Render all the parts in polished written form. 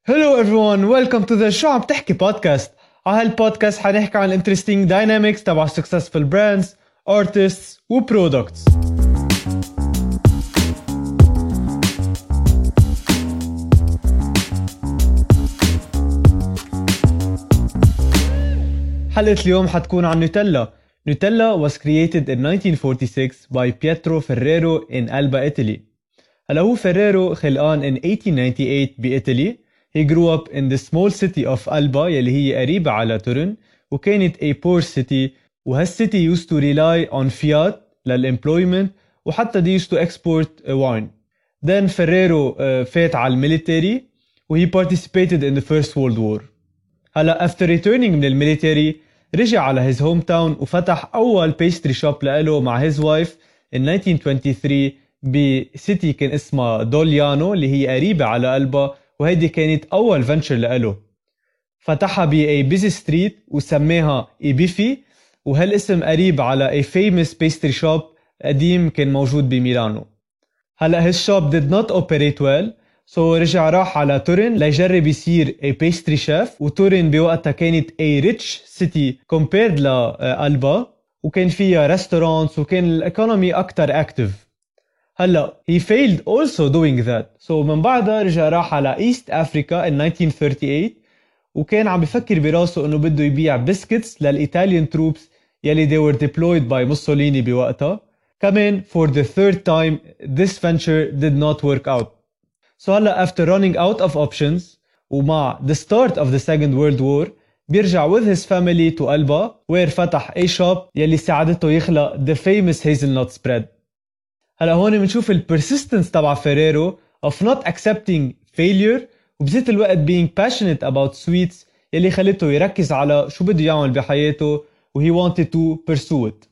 Hello everyone, welcome to the شو عم تحكي بودكاست. على هالبودكاست حنحكي عن interesting dynamics تبع successful brands, artists و products. حلقة اليوم حتكون عن نوتيلا. Nutella was created in 1946 by Pietro Ferrero in Alba, Italy. هلا هو فيريرو خلقان in 1898 بإيطالي. He grew up in the small city of Alba يلي هي قريبة على تورن وكانت a poor city وهالcity used to rely on fiat للemployment وحتى they used to export wine. Then Ferrero فات على الميليتري و he participated in the First World War. هلا after returning من الميليتري رجع على his hometown وفتح أول pastry shop لإله مع his wife in 1923 بسيتي كان اسمها دوليانو اللي هي قريبة على ألبا وهيدي كانت أول فنتشر لإله. فتحها ب a busy street وسميها إيبيفي وهالاسم قريب على a famous pastry shop قديم كان موجود بميلانو. هلأ his shop did not operate well so رجع راح على تورين ليجرب يصير a pastry chef وتورين بوقتها كانت a rich city compared لألبا وكان فيها restaurants وكان الإيكونومي أكتر active. هلا he failed also doing that so من بعدها رجع راح على East Africa in 1938 وكان عم بفكر براسه انه بده يبيع بسكتس للإيطاليان troops يلي they were deployed by موسوليني بوقتها. كمان for the third time this venture did not work out. So هلا after running out of options ومع the start of the Second World War بيرجع with his family to Alba where فتح a shop يلي ساعدته يخلق the famous hazelnut spread. هلا هون بنشوف البرسيستنس تبع فيريرو of not accepting failure وبذات الوقت being passionate about sweets يلي خلته يركز على شو بده يعمل بحياته و he wanted to pursue it.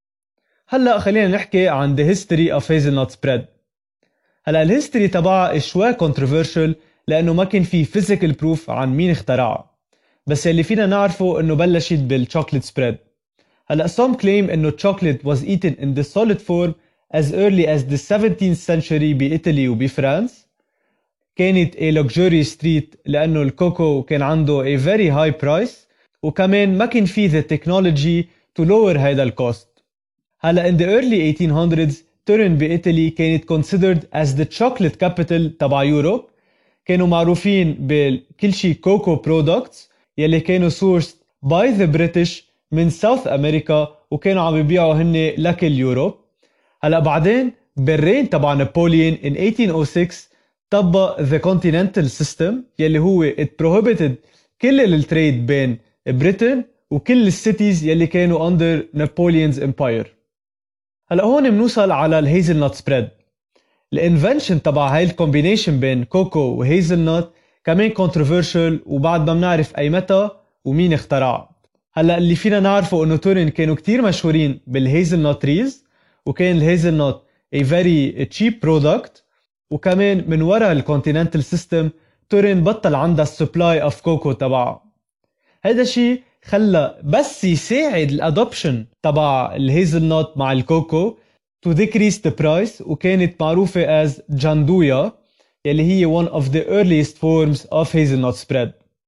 هلا خلينا نحكي عن the history of hazelnut spread. هلا الهيستوري تبعها شوي controversial لأنه ما كان في physical proof عن مين اخترعها بس اللي فينا نعرفه انه بلشت بالchocolate spread. هلا some claim انه chocolate was eaten in the solid form as early as the 17th century بإيطالي وبفرنسا. كانت a luxurious treat لأنه الكوكو كان عنده a very high price وكمان ما كان فيه the technology to lower هيدا الكوست. هلا in the early 1800s تورين بإيطالي كانت considered as the chocolate capital تبع يوروب. كانوا معروفين بكل شي كوكو products يلي كانوا sourced by the British من South America وكانوا عم بيبيعوا هن لكل يوروب. هلا بعدين بالرين تبع نابوليون in 1806 طبق the continental system يلي هو it prohibited كل التريد بين بريطن وكل السيتيز يلي كانوا under Napoleon's empire. هلا هون بنوصل على الهيزلنت سبريد. الانفنشن تبع هاي الكومبينيشن بين كوكو وهيزلنت كمان controversial وبعد ما بنعرف اي متى ومين اخترعها. هلا اللي فينا نعرفه انه تورين كانوا كتير مشهورين بالهيزلنت تريز وكان الهيزلنت a very cheap product وكمان من وراء الكونتيننتال سيستم تورين بطل عندها السبلاي اوف كوكو تبعها. هذا الشيء خلى بس يساعد الادوبشن تبع الهيزلنت مع الكوكو to decrease the price وكانت معروفة as جاندويا يلي هي one of the earliest forms of hazelnut spread.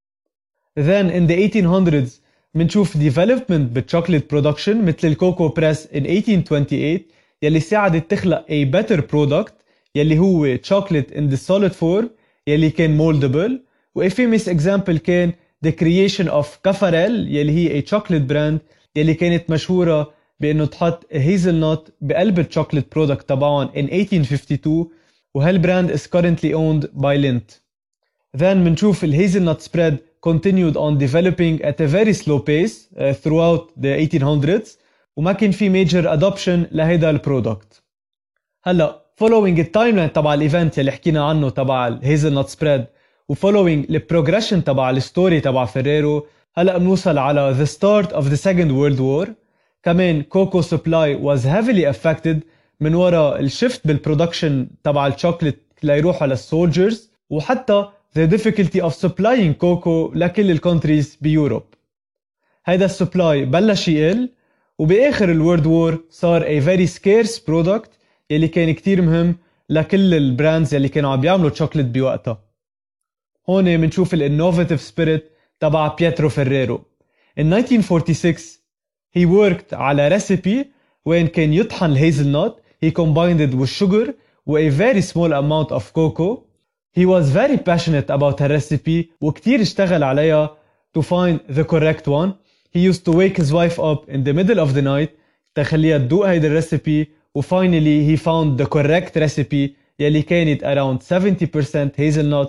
Then in the 1800s منشوف development بالchocolate production مثل الكوكو بريس in 1828 يلي ساعدت تخلق a better product يلي هو chocolate in the solid form يلي كان moldable و a famous example كان the creation of كافاريل يلي هي a chocolate brand يلي كانت مشهورة بأنه تحط hazelnut بقلب الchocolate product تبعهم in 1852 وهالبراند is currently owned by Lindt. Then منشوف الhazelnut spread continued on developing at a very slow pace throughout the 1800s وما كان في major adoption لهيدا البرودكت. هلا following التايملاين تبع الايفنت اللي حكينا عنه تبع الهيزلنت سبريد و following البروجريشن تبع الستوري تبع فيريرو هلا بنوصل على the start of the Second World War. كمان كوكو supply was heavily affected من وراء الشفت بالبرودكشن تبع الشوكليت ليروحوا للسولجرز وحتى the difficulty of supplying كوكو لكل الكونتريز بيوروب. هيدا السبلاي بلش يقل وبآخر الورد وور صار a very scarce product يلي كان كتير مهم لكل البراندز يلي كانوا عم بيعملوا شوكليت بوقتها. هون منشوف الانوفيتيف سبيريت تبع بيترو فيريرو. In 1946 he worked على recipe وين كان يطحن الهيزل نوت. He combined it with sugar و a very small amount of cocoa. He was very passionate about her recipe وكتير اشتغل عليها to find the correct one. He used to wake his wife up in the middle of the night تخليها تدوق هيدا الريسيبي و finally he found the correct recipe يلي كانت around 70% hazelnut,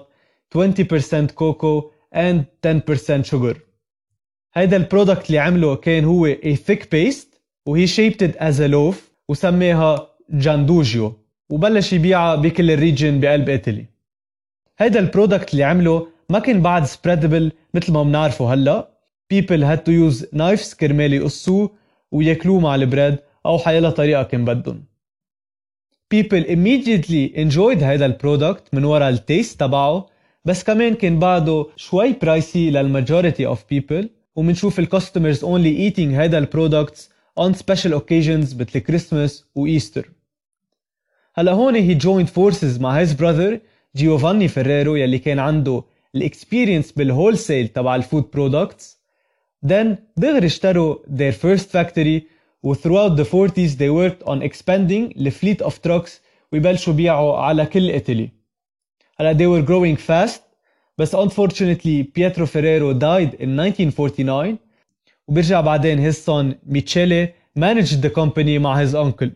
20% cocoa and 10% sugar. هيدا البرودكت اللي عمله كان هو a thick paste و he shaped it as a loaf وسميها جاندوجيو وبلش يبيعها بكل الريجن بقلب إيطالي. هيدا البرودكت اللي عمله ما كان بعد spreadable مثل ما بنعرفه هلا. People had to use knives كرمال يقصوه وياكلوه مع البريد أو حيلا طريقة كان بدهم. People immediately enjoyed هيدا البرودكت من وراء التيست تبعه بس كمان كان بعده شوي برايسي للمajority of people ومنشوف الكاستمرز only eating هيدا البرودكتس on special occasions مثل كريسماس وإيستر. هلا هون he joined forces مع his brother جيوفاني فيريرو يلي كان عنده الاكسبيرينس بالهولسيل تبع الفود برودكتس. Then دغري اشتروا their first factory و throughout the 40s they worked on expanding the fleet of trucks ويبلشوا بيعوا على كل إيطالي. هلا they were growing fast بس unfortunately Pietro Ferrero died in 1949 وبرجع بعدين his son Michele managed the company مع his uncle.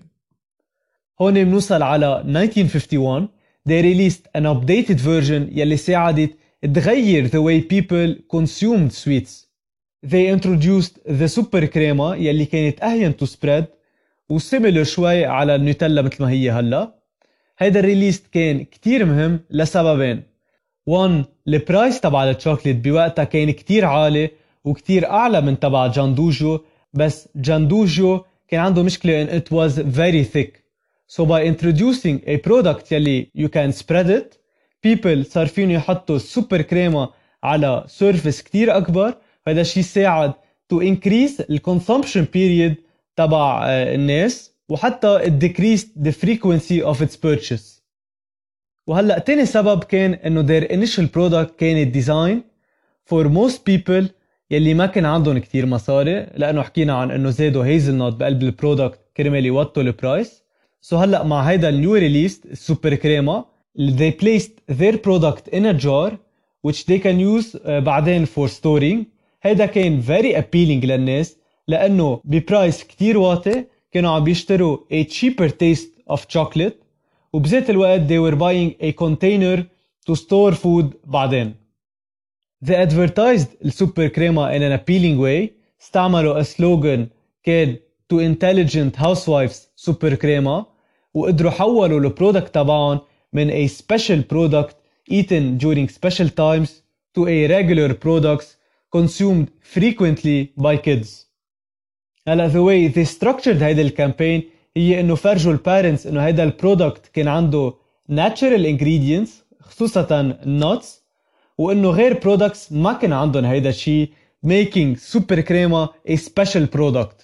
هون بنوصل على 1951 they released an updated version يلي ساعدت تغير the way people consumed sweets. They introduced the super crema يلي كانت أهين to spread وسيميلر شوي على النوتيلا مثل ما هي هلا. هيدا الريليست كان كتير مهم لسببين. 1 البرايس تبع الشوكليت بوقتها كان كتير عالي وكتير أعلى من تبع جاندوجو بس جاندوجو كان عنده مشكلة in it was very thick. So by introducing a product يلي you can spread it people صار فيني يحطوا السوبر كريمة على surface كتير أكبر. هذا الشيء ساعد to increase the consumption period تبع الناس وحتى it decreased the frequency of its purchase. وهلأ تاني سبب كان انه their initial product كانت design for most people يلي ما كان عندهم كتير مصاري لأنه حكينا عن انه زادوا هيزل بقلب البرودكت كرمال يوطوا البرايس. So هلأ مع هيدا النيو ريليست السوبر كريما they placed their product in a jar which they can use بعدين for storing. هيدا كان very appealing للناس لأنه ببرايس كتير واطي كانوا عم بيشتروا a cheaper taste of chocolate وبذات الوقت they were buying a container to store food بعدين. They advertised السوبر كريما in an appealing way. استعملوا a slogan كان to intelligent housewives super كريما وقدروا حولوا البرودكت تبعهم من a special product eaten during special times to a regular products consumed frequently by kids. هلا the way they structured هيدا الكامبين هي انه فرجوا البارنتس انه هيدا البرودكت كان عنده natural ingredients خصوصا nuts وانه غير products ما كان عندهم هيدا الشيء making super crema a special product.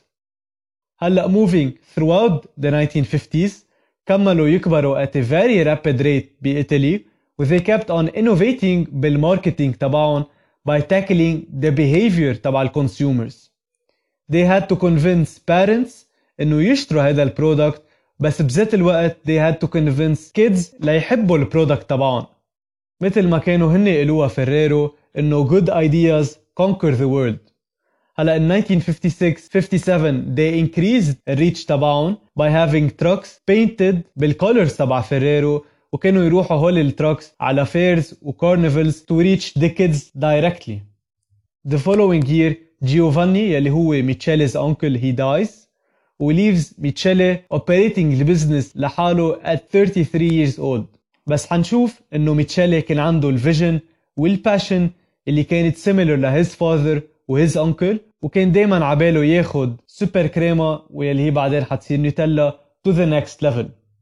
هلا moving throughout the 1950s كملوا يكبروا at a very rapid rate بإيطالي و they kept on innovating بالماركتينج تبعهم by tackling the behavior تبع الكونسيومرز. They had to convince parents انه يشتروا هذا البرودكت بس بذات الوقت they had to convince kids ليحبوا البرودكت تبعهم مثل ما كانوا هن يقولوها فيريرو انه good ideas conquer the world. هلا in 1956-57 they increased الريتش تبعهم by having trucks painted بالcolors تبع فيريرو وكانوا يروحوا هول التراكس على fairs و carnivals to reach the kids directly. The following year Giovanni يلي هو ميتشيلي's uncle he dies و leaves ميتشيلي operating البزنس لحاله at 33 years old. بس حنشوف انه ميتشيلي كان عنده الفيجن والباشن اللي كانت similar لhis father و his uncle وكان دايما عباله ياخد سوبر كريما واللي هي بعدين حتصير نوتيلا to the next level.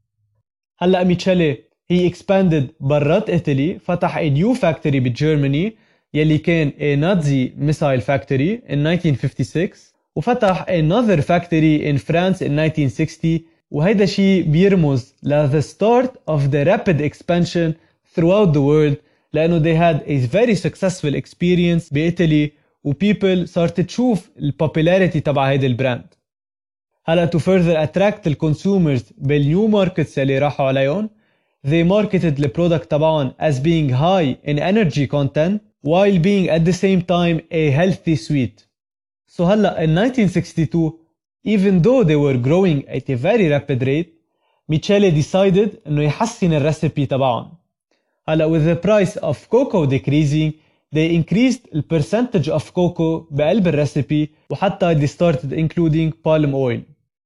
هلأ ميتشيلي he expanded برات إيطالي فتح a new factory بجيرماني يلي كان a Nazi missile factory in 1956 وفتح another factory in France in 1960 وهيدا شيء بيرمز ل the start of the rapid expansion throughout the world لأنه they had a very successful experience بإيطالي و people صارت تشوف البوبولاريتي تبع هيدا البراند. هلا to further attract الكونسومرز بالنيو ماركتس اللي راحوا عليهم they marketed the product تبعهم as being high in energy content while being at the same time a healthy sweet. So هلا in 1962 even though they were growing at a very rapid rate Michele decided انه يحسن الريسيبي تبعهم. هلا with the price of cocoa decreasing they increased the percentage of cocoa بقلب الريسيبي وحتى they started including palm oil.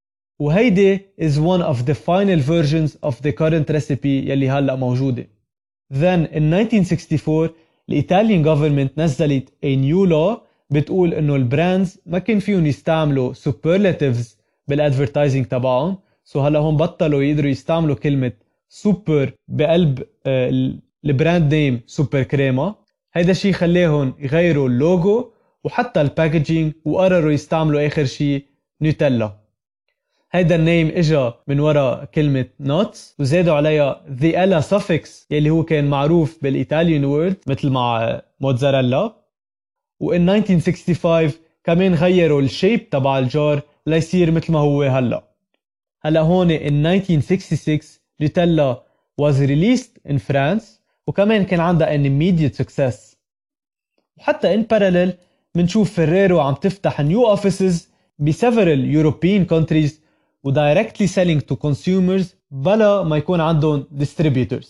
وهيدي is one of the final versions of the current recipe يلي هلأ موجودة. Then in 1964 الإيطاليان government نزلت a new law بتقول إنه البراندز ما كان فيهم يستعملوا superlatives بالادفرتايزنج تبعهم. So هلأ هم بطلوا يقدروا يستعملوا كلمة سوبر بقلب البراند نيم سوبر كريما. هيدا الشيء خليهم يغيروا اللوجو وحتى الباكجينج وقرروا يستعملوا آخر شيء نوتيلا. هيدا النيم اجا من وراء كلمة nuts وزادوا عليها the ella suffix يلي هو كان معروف بالإيطاليان وورد مثل مع موتزاريلا. وإن 1965 كمان غيروا الشيب تبع الجار ليصير مثل ما هو هلأ. هلأ هون in 1966 نوتيلا was released in France وكمان كان عندها an immediate success. وحتى in parallel منشوف فيريرو عم تفتح new offices ب several European countries و directly selling to consumers بلا ما يكون عندهم distributors.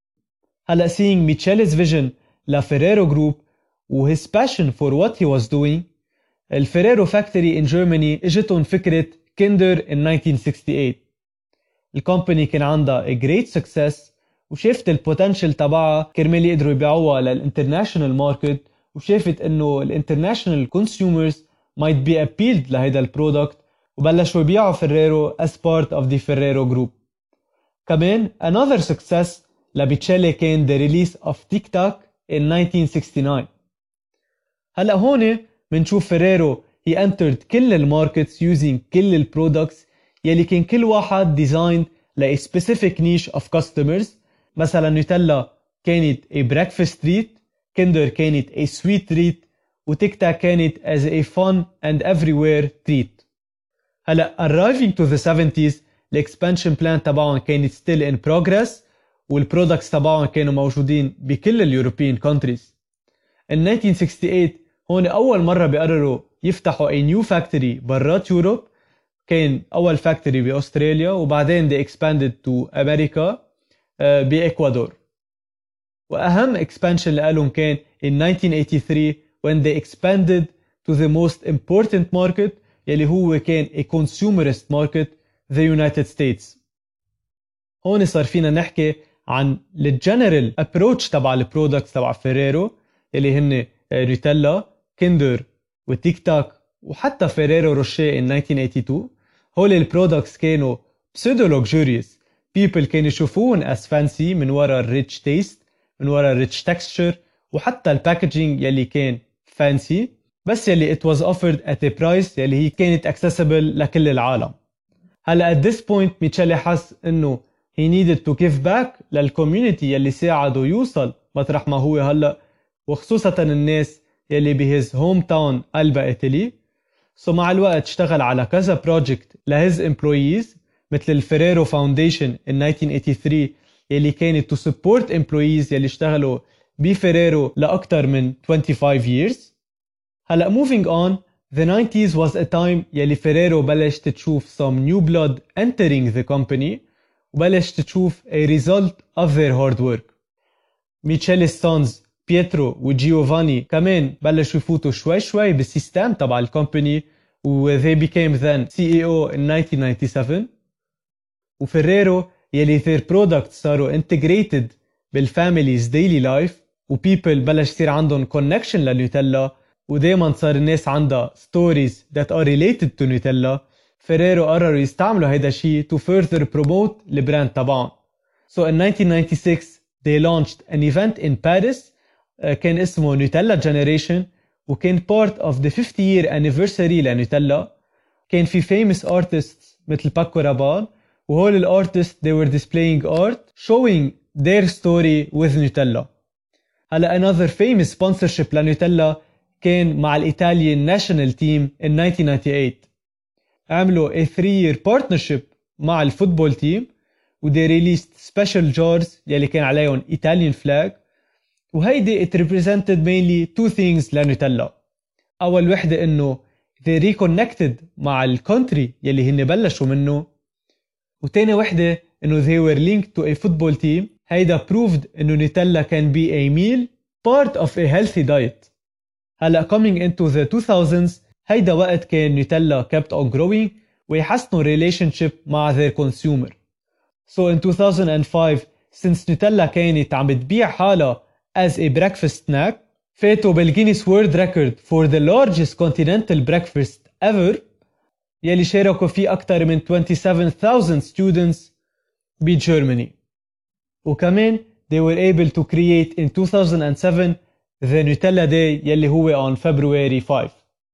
هلأ seeing Michele's vision لفيريرو جروب و his passion for what he was doing الفيريرو فاكتوري in Germany اجتهم فكرة كيندر in 1968. الكومباني كان عندها a great success وشافت البوتنشل تبعها كرمال يقدروا يبيعوها للانترناشنال ماركت وشافت انه الانترناشنال consumers might be appealed لهيدا البرودكت وبلشوا يبيعوا فيريرو as part of the Ferrero group. كمان another success لبيتشيلي كان the release of تيك تاك in 1969. هلأ هون منشوف فيريرو he entered كل الماركتس using كل البرودكتس يلي كان كل واحد designed ل a specific niche of customers. مثلا نوتيلا كانت a breakfast treat, كندر كانت a sweet treat وتيك تاك كانت as a fun and everywhere treat. هلا arriving to the 70s الاكسبانشن بلان تبعهم كانت still in progress والبرودكتس تبعهم كانوا موجودين بكل اليوروبيان countries. in 1968 هون أول مرة بيقرروا يفتحوا a new factory برات يوروب. كان أول factory بأستراليا وبعدين they expanded to أمريكا بإكوادور. وأهم expansion لهم كان in 1983 when they expanded to the most important market يلي هو كان a consumerist market the United States. هون صار فينا نحكي عن الجنرال approach تبع البرودكتس تبع فيريرو يلي هن نوتيلا كيندر وتيك تاك وحتى فيريرو روشيه in 1982. هول البرودكتس كانوا pseudo luxurious people كانوا يشوفون as fancy من وراء الريتش تيست من وراء الريتش texture وحتى الباكجينج يلي كان fancy بس يلي it was offered at a price يلي هي كانت accessible لكل العالم. هلا at this point ميتشيلي حس انه he needed to give back للكوميونيتي يلي ساعده يوصل مطرح ما هو هلا وخصوصا الناس يلي بهز هوم تاون ألبا إيطالي. مع الوقت اشتغل على كذا بروجكت لهز employees مثل الفيريرو فاونديشن in 1983 يلي كانت to support employees يلي اشتغلوا بفيريرو لأكتر من 25 years. هلا moving on the 90s was a time يلي فيريرو بلشت تشوف some new blood entering the company وبلشت تشوف a result of their hard work. ميتشيلي's sons بيترو وجيوفاني كمان بلشوا يفوتوا شوي شوي بالسيستم تبع الكومباني و they became then CEO in 1997. وفيريرو يلي their products صاروا integrated بالفاميليز daily life و people بلش يصير عندهم connection لنوتيلا ودايما صار الناس عندها stories that are related to نوتيلا. فيريرو قرروا يستعملوا هيدا الشيء to further promote البراند تبعهم. So in 1996 they launched an event in Paris كان اسمه نوتيلا Generation وكان part of the 50-year anniversary لنوتيلا. كان في famous artists مثل باكو رابال وهول الارتست they were displaying art showing their story with نوتيلا. هلا another famous sponsorship لنوتيلا كان مع الإيطاليان ناشونال تيم in 1998. عملوا a 3-year partnership مع الفوتبول تيم و they released special jars يلي كان عليهم Italian flag وهيدي it represented mainly two things لنوتيلا. أول وحدة إنه they reconnected مع الكونتري يلي هن بلشوا منه وتاني وحدة إنه they were linked to a football team. هيدا proved إنه نوتيلا can be a meal part of a healthy diet. هلأ coming into the 2000s هيدا وقت كان نوتيلا kept on growing ويحسنوا relationship مع their consumer. So in 2005 since نوتيلا كانت عم بتبيع حالها as a breakfast snack فاتوا بالجينيس World Record for the largest continental breakfast ever يلي شاركوا فيه أكثر من 27,000 students بجرماني. وكمان they were able to create in 2007 the Nutella Day يلي هو on February 5.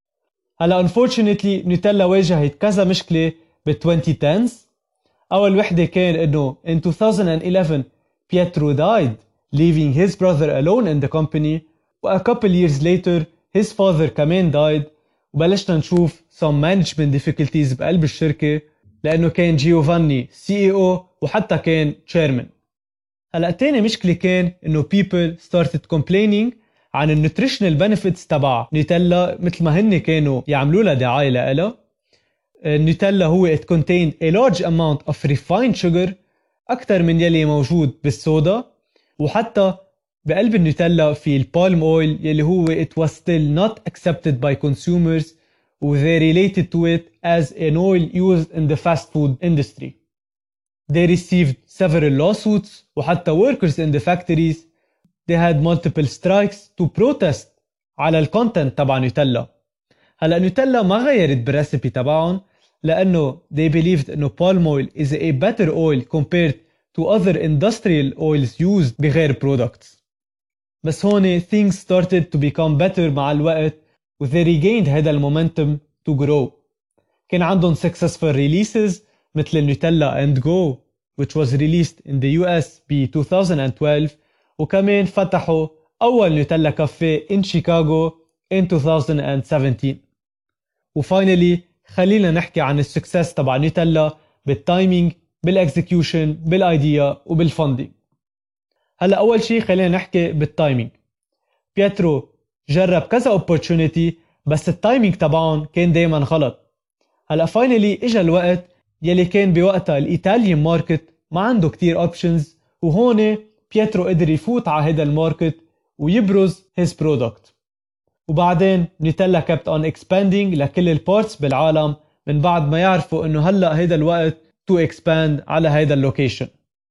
هلا unfortunately نوتيلا واجهت كذا مشكلة بال 2010s. أول وحدة كان إنه in 2011 Pietro died leaving his brother alone in the company و a couple years later his father كمان died وبلشنا نشوف some management difficulties بقلب الشركة لأنه كان جيوفاني CEO وحتى كان chairman. هلأ تاني مشكلة كان إنه people started complaining عن النوتريشنال بنفيتس تبع نوتيلا مثل ما هن كانوا يعملوا لها دعاية لها. النوتيلا هو it contained a large amount of refined sugar أكتر من يلي موجود بالسودا وحتى بقلب النوتيلا في البالم اويل يلي هو it was still not accepted by consumers و they related to it as an oil used in the fast food industry. They received several lawsuits وحتى workers in the factories they had multiple strikes to protest على الكونتنت تبع نوتيلا. هلا نوتيلا ما غيرت بالريسبي تبعهم لأنه they believed إنه palm oil is a better oil compared to other industrial oils used بغير products. بس هون things started to become better مع الوقت و they regained هذا المومنتم to grow. كان عندهم successful releases مثل النوتيلا and go which was released in the US ب 2012 وكمان فتحوا أول نوتيلا كافيه in Chicago in 2017. وفاينلي خلينا نحكي عن السكسس تبع نوتيلا بالتايمينج بالاكزيكيوشن بالايديا وبالفندنج. هلا اول شيء خلينا نحكي بالتايمينج. بيترو جرب كذا opportunity بس التايمينج تبعهم كان دايما غلط. هلا فاينلي اجى الوقت يلي كان بوقتها الايطاليان ماركت ما عنده كتير اوبشنز وهون بيترو قدر يفوت على هذا الماركت ويبرز his product. وبعدين نوتيلا kept on expanding لكل البارتس بالعالم من بعد ما يعرفوا انه هلا هيدا الوقت to expand على هيدا اللوكيشن.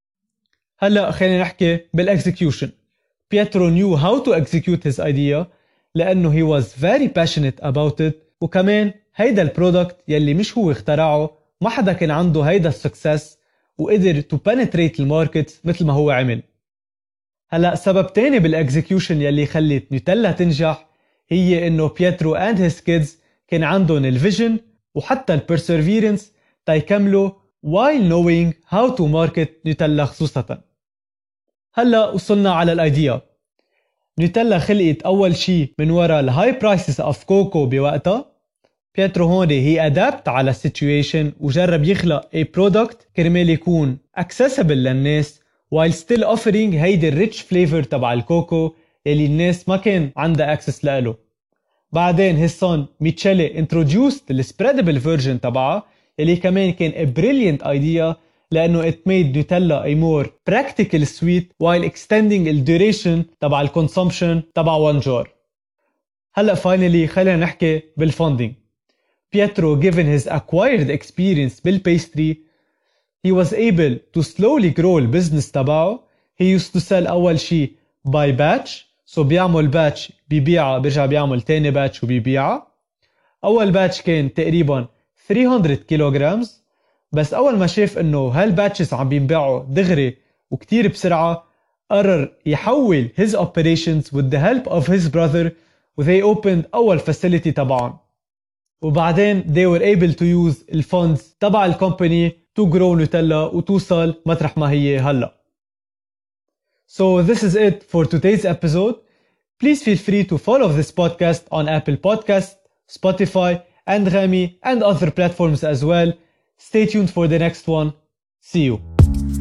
هلا خلينا نحكي بالاكزيكيوشن. بيترو knew how to execute his idea لانه he was very passionate about it وكمان هيدا البرودكت يلي مش هو اخترعه ما حدا كان عنده هيدا السكسس وقدر to penetrate الماركت مثل ما هو عمل. هلا سبب تاني بالاكزيكيوشن يلي خلت نوتيلا تنجح هي انه بيترو and his kids كان عندهم الفيجن وحتى البرسيفيرنس تيكملوا while knowing how to market نوتيلا خصوصا. هلا وصلنا على الايديا. نوتيلا خلقت اول شيء من وراء الهاي برايسز اوف كوكو بوقتها. بيترو هون هي ادابت على السيتويشن وجرب يخلق a product كرمال يكون accessible للناس while still offering هيدي الريتش فليفر تبع الكوكو اللي الناس ما كان عندها access له. بعدين his son ميتشيلي introduced the spreadable version تبعها اللي كمان كان a brilliant idea لأنه it made Nutella a more practical sweet while extending the duration تبع consumption تبع one jar. هلأ finally خلينا نحكي بالfunding. Pietro, given his acquired experience بالpastry, he was able to slowly grow البزنس تبعه. He used to sell أول شيء by batch, so بيعمل batch بيبيعها بيرجع بيعمل تاني batch وبيبيعها. أول batch كان تقريبا 300 كيلوغرامز، بس أول ما شاف إنه هالباتشز عم بينباعوا دغري وكتير بسرعة قرر يحول his operations with the help of his brother و they opened أول facility تبعهم. وبعدين they were able to use الفونز تبع الكومباني to grow نوتيلا وتوصل مطرح ما هي هلأ. So this is it for today's episode. Please feel free to follow this podcast on Apple Podcasts, Spotify, Anghami, and other platforms as well. Stay tuned for the next one. See you.